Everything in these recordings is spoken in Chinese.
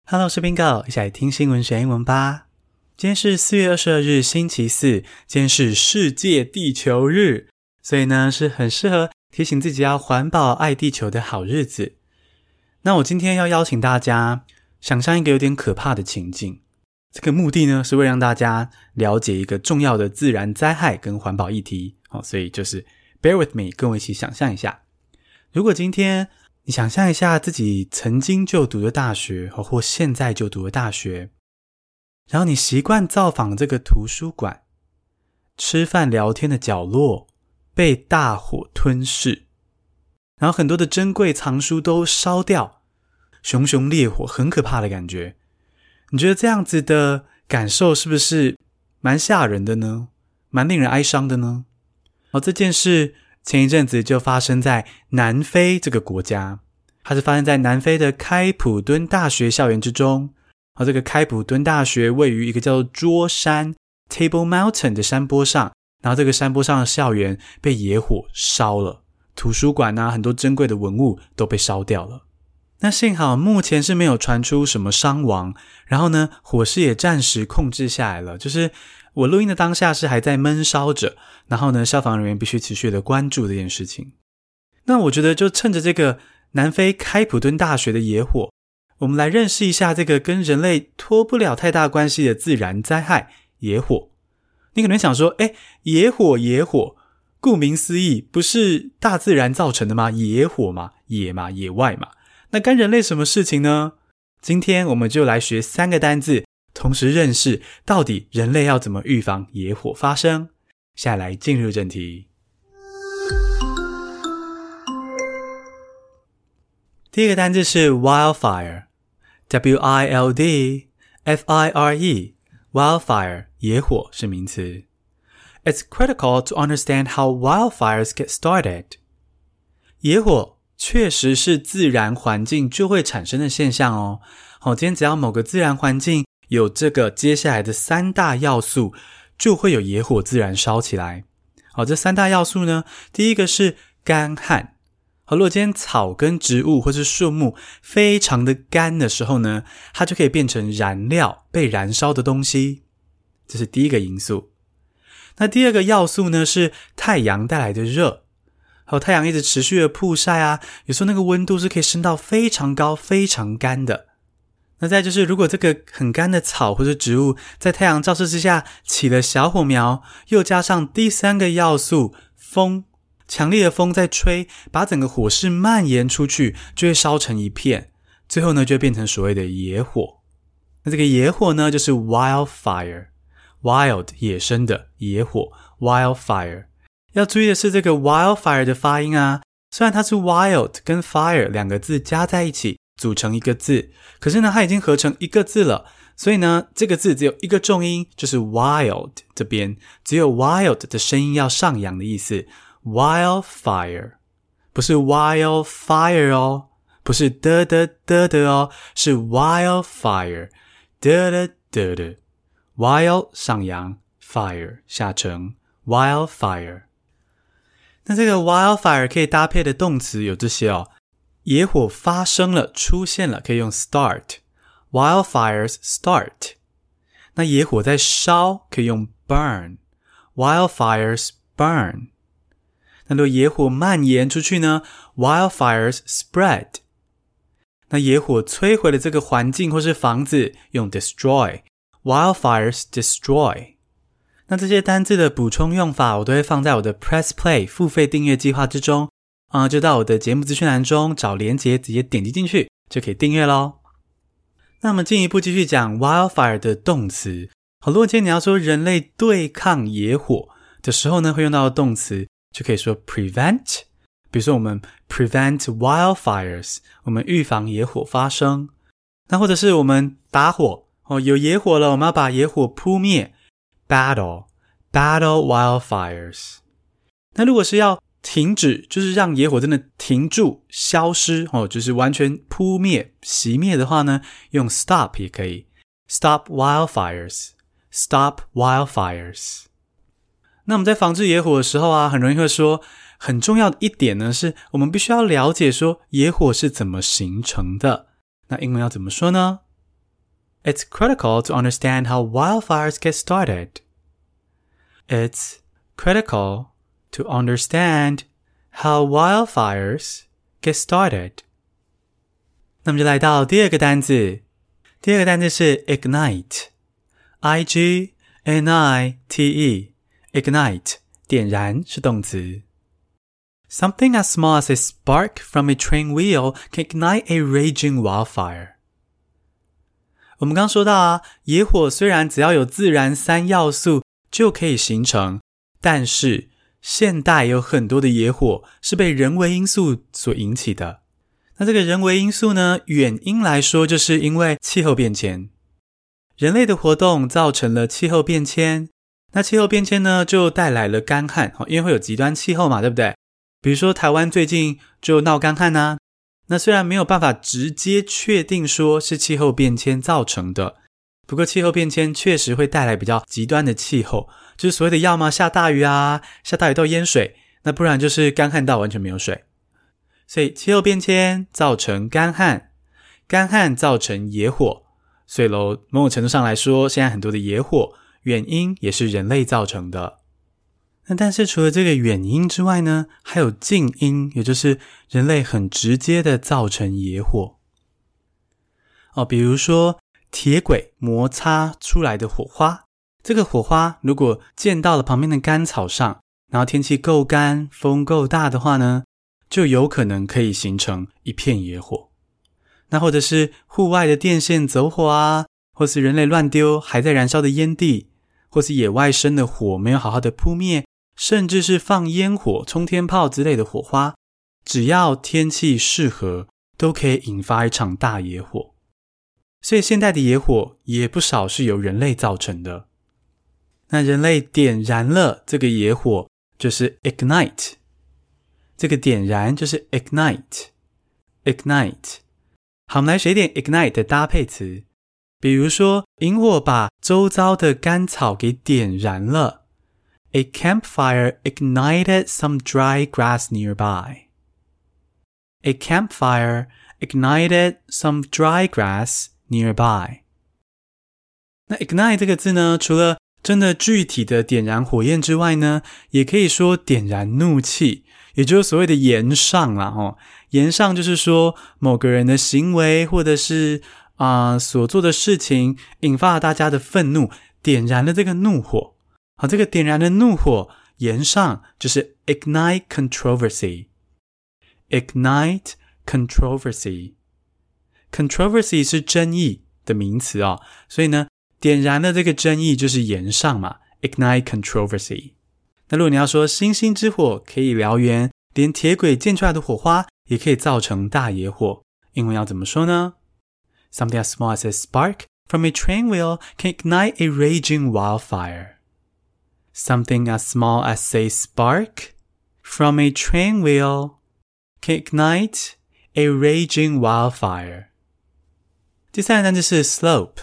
Hello， 我是 Bingo， 一起來聽新聞學英文吧。今天是4月22日星期四，今天是世界地球日，所以呢是很適合提醒自己要環保愛地球的好日子。那我今天要邀請大家想象一個有點可怕的情境，這個目的呢是為了讓大家了解一個重要的自然災害跟環保議題，所以就是 bear with me， 跟我一起想象一下，如果今天你想象一下自己曾經就讀的大學，或現在就讀的大學，然後你習慣造訪這個圖書館，吃飯聊天的角落被大火吞噬，然後很多的珍貴藏書都燒掉，熊熊烈火，很可怕的感覺。你覺得這樣子的感受是不是蠻嚇人的呢？蠻令人哀傷的呢？這件事前一陣子就發生在南非這個國家，它是發生在南非的開普敦大學校園之中。這個開普敦大學位於一個叫做桌山 Table Mountain 的山坡上，然後這個山坡上的校園被野火燒了，圖書館很多珍貴的文物都被燒掉了。那幸好目前是沒有傳出什麼傷亡，然後呢火勢也暫時控制下來了，就是我錄音的當下是還在悶燒着，然後呢消防人員必須持續的關注這件事情。那我覺得就趁着這個南非開普敦大學的野火，我們來認識一下這個跟人類脫不了太大關係的自然災害野火。你可能想說野火，顧名思義不是大自然造成的嗎？野火嘛，野外嘛，那干人類什麼事情呢？今天我們就來學3個單字，同時認識到底人類要怎麼預防野火發生。下來進入正題。第一個單字是 wildfire， W-I-L-D-F-I-R-E， wildfire， 野火是名詞。It's critical to understand how wildfires get started. 野火確實是自然環境就會產生的現象哦。今天只要某個自然環境有這個接下來的3大要素，就會有野火自然燒起來。這3大要素呢，第一個是乾旱。如果今天草跟植物或是樹木非常的乾的時候呢，它就可以變成燃料，被燃燒的東西，這是第一個因素。那第二個要素呢是太陽帶來的熱，太陽一直持續的曝曬有時候那個溫度是可以升到非常高非常乾的。那再就是如果這個很乾的草或是植物在太陽照射之下起了小火苗，又加上第3個要素風，強烈的風在吹，把整個火勢蔓延出去，就會燒成一片，最後呢就會變成所謂的野火。那這個野火呢就是 wildfire， wild 野生的，野火 wildfire。要注意的是這個 wildfire 的發音雖然它是 wild 跟 fire 2個字加在一起組成一個字，可是呢它已經合成一個字了，所以呢這個字只有一個重音，就是 wild， 這邊只有 wild 的聲音要上揚的意思。Wildfire 不是 wildfire 哦，不是的哦，是 wildfire 的 wild 上揚 fire 下沉 wildfire。 那這個 wildfire 可以搭配的動詞有這些野火發生了出現了可以用 start， wildfires start。 那野火在燒可以用 burn， wildfires burn。那如果野火蔓延出去呢 wildfires spread。 那野火摧毀了這個環境或是房子用 destroy， wildfires destroy。 那這些單字的補充用法我都會放在我的 Press Play 付費訂閱計劃之中，就到我的節目資訊欄中找連結，直接點擊進去就可以訂閱咯。那我們進一步繼續講 wildfire 的動詞。如果今天你要說人類對抗野火的時候呢，會用到的動詞就可以說 prevent， 比如說我們 prevent wildfires， 我們預防野火發生。那或者是我们打火，有野火了，我們要把野火撲滅， battle wildfires。 那如果是要停止，就是讓野火真的停住消失，就是完全撲滅熄滅的話呢，用 stop 也可以， stop wildfires。那我們在防治野火的時候很容易會說，很重要的一點呢，是我們必須要了解說野火是怎麼形成的。那英文要怎麼說呢？ It's critical to understand how wildfires get started. It's critical to understand how wildfires get started. 那麼就來到第二個單字，第二個單字是 ignite， I-G-N-I-T-E， ignite， 點燃是動詞。Something as small as a spark from a train wheel can ignite a raging wildfire. 我們剛說到啊，野火雖然只要有自然3要素就可以形成，但是現代有很多的野火是被人為因素所引起的。那這個人為因素呢，遠因來說就是因為氣候變遷。人類的活動造成了氣候變遷，那氣候變遷呢就帶來了乾旱，因為會有極端氣候嘛，對不對？比如說台灣最近就鬧乾旱啊，那雖然沒有辦法直接確定說是氣候變遷造成的，不過氣候變遷確實會帶來比較極端的氣候，就是所謂的要麼下大雨啊，下大雨到淹水，那不然就是乾旱到完全沒有水。所以氣候變遷造成乾旱，乾旱造成野火，所以某種程度上來說，現在很多的野火原因也是人類造成的。那但是除了這個原因之外呢，還有近因，也就是人類很直接的造成野火。比如說鐵軌摩擦出來的火花，這個火花如果濺到了旁邊的乾草上，然後天氣夠乾，風夠大的話呢，就有可能可以形成一片野火。那或者是戶外的電線走火啊，或是人類亂丟還在燃燒的煙蒂，或是野外生的火沒有好好的撲滅，甚至是放煙火、沖天炮之類的火花，只要天氣適合，都可以引發一場大野火。所以現代的野火也不少是由人類造成的。那人類點燃了這個野火，就是 ignite。這個點燃就是 ignite。好，我們來學一點 ignite 的搭配詞。比如說，引火把周遭的乾草給點燃了。A campfire ignited some dry grass nearby. A campfire ignited some dry grass nearby. 那 ignite 這個字呢，除了真的具體的點燃火焰之外呢，也可以說點燃怒氣，也就是所謂的炎上啦。炎上就是說某個人的行為或者是所做的事情引發了大家的憤怒，點燃了這個怒火。好，這個點燃的怒火炎上就是 ignite controversy。 ignite controversy。 controversy 是爭議的名詞哦，所以呢點燃了這個爭議就是炎上嘛， ignite controversy。 那如果你要說星星之火可以燎原，連鐵軌濺出來的火花也可以造成大野火，英文要怎麼說呢？ Something as small as a spark from a train wheel can ignite a raging wildfire. Something as small as a spark from a train wheel can ignite a raging wildfire. 第三個單字是 slope。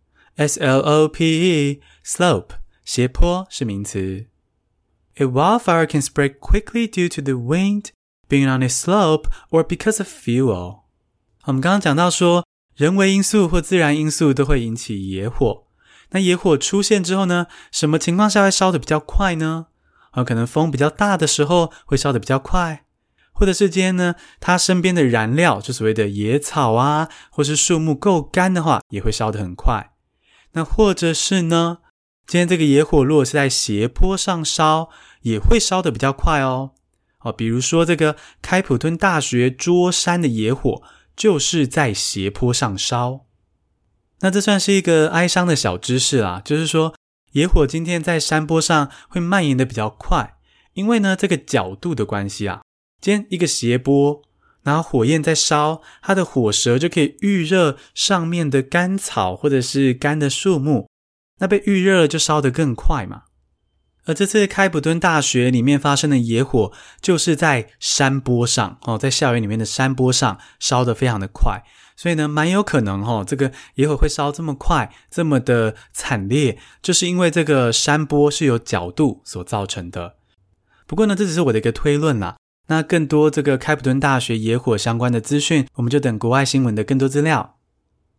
S-L-O-P-E slope 斜坡是名詞。A wildfire can spread quickly due to the wind being on a slope or because of fuel. 我們剛剛講到說，人為因素或自然因素都會引起野火。那野火出現之後呢，什麼情況下會燒得比較快呢？可能風比較大的時候會燒得比較快，或者是今天呢，它身邊的燃料，就所謂的野草啊，或是樹木夠乾的話，也會燒得很快。那或者是呢，今天這個野火如果是在斜坡上燒，也會燒得比較快哦。比如說這個開普敦大學桌山的野火，就是在斜坡上燒。那這算是一個哀傷的小知識啦，就是說野火今天在山坡上會蔓延的比較快，因為呢這個角度的關係啊，今天一個斜坡，然後火焰在燒，它的火舌就可以預熱上面的乾草或者是乾的樹木，那被預熱了就燒得更快嘛。而這次開普敦大學裡面發生的野火，就是在山坡上，在校園裡面的山坡上燒得非常的快，所以呢蠻有可能這個野火會燒這麼快，這麼的慘烈，就是因為這個山坡是有角度所造成的。不過呢這只是我的一個推論啦，那更多這個開普敦大學野火相關的資訊，我們就等國外新聞的更多資料。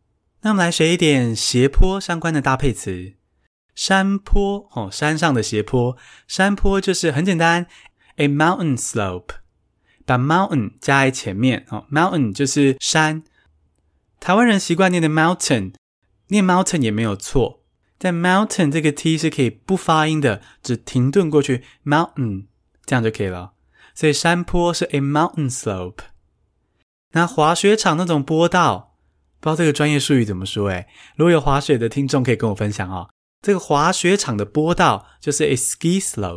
那我們來學一點斜坡相關的搭配詞。山坡，山上的斜坡，山坡就是很簡單 ，a mountain slope， 把 mountain 加在前面，mountain 就是山。台灣人習慣念的 mountain， 念 mountain 也沒有錯，但 mountain 這個 t 是可以不發音的，只停頓過去 mountain， 這樣就可以了。所以山坡是 a mountain slope。那滑雪場那種坡道，不知道這個專業術語怎麼說誒，如果有滑雪的聽眾可以跟我分享哦。這個滑雪場的坡道就是 a ski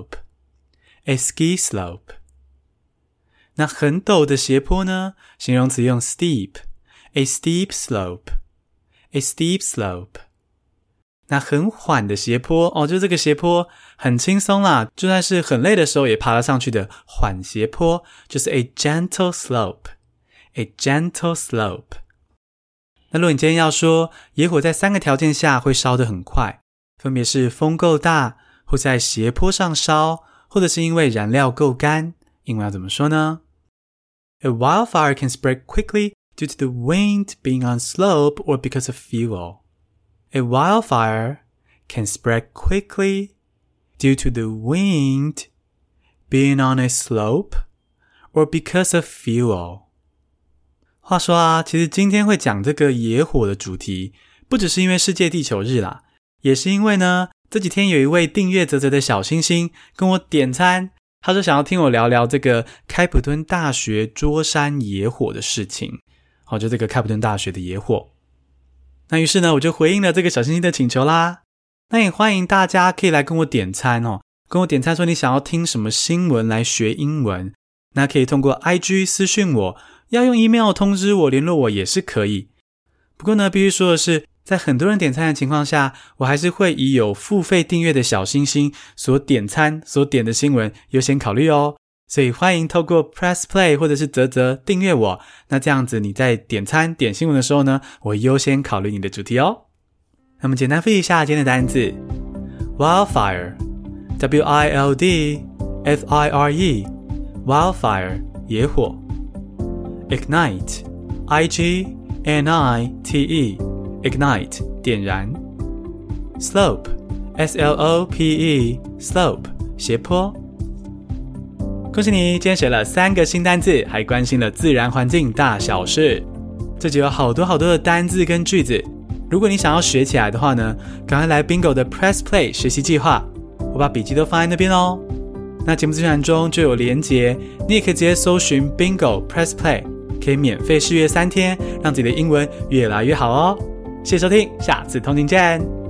slope，a ski slope。那很陡的斜坡呢，形容詞用 steep，a steep slope，a steep slope。那很緩的斜坡就这個斜坡很輕鬆啦，就算是很累的時候也爬得上去的緩斜坡，就是 a gentle slope，a gentle slope。那如果你今天要說野火在3個條件下會燒得很快，分別是風夠大，或在斜坡上燒，或者是因為燃料夠乾，英文要怎麼說呢？ A wildfire can spread quickly due to the wind being on slope or because of fuel. A wildfire can spread quickly due to the wind being on a slope or because of fuel. 話說啊，其實今天會講這個野火的主題，不只是因為世界地球日啦，也是因為呢，這幾天有一位訂閱嘖嘖的小星星跟我點餐，他說想要聽我聊聊這個開普敦大學桌山野火的事情，就這個開普敦大學的野火。那於是呢，我就回應了這個小星星的請求啦。那也歡迎大家可以來跟我點餐跟我點餐說你想要聽什麼新聞來學英文，那可以通過 IG 私訊我，要用 email 通知我聯絡我也是可以。不過呢，必須說的是，在很多人點餐的情況下，我還是會以有付費訂閱的小星星所點餐所點的新聞優先考慮哦。所以歡迎透過 Press Play 或者是嘖嘖訂閱我，那這樣子你在點餐點新聞的時候呢，我會優先考慮你的主題哦。那麼簡單複習一下今天的單字 Wildfire W-I-L-D-F-I-R-E Wildfire 野火 Ignite I-G-N-I-T-E Ignite 點燃 Slope S-L-O-P-E Slope 斜坡。恭喜你今天學了3個新單字，還關心了自然環境大小事。這集有好多的單字跟句子，如果你想要學起來的話呢，趕快來 Bingo 的 Press Play 學習計劃，我把筆記都放在那邊哦。那節目資訊欄中就有連結，你也可以直接搜尋 Bingo Press Play， 可以免費試閱3天，讓自己的英文越來越好哦。謝謝收聽，下次通勤見。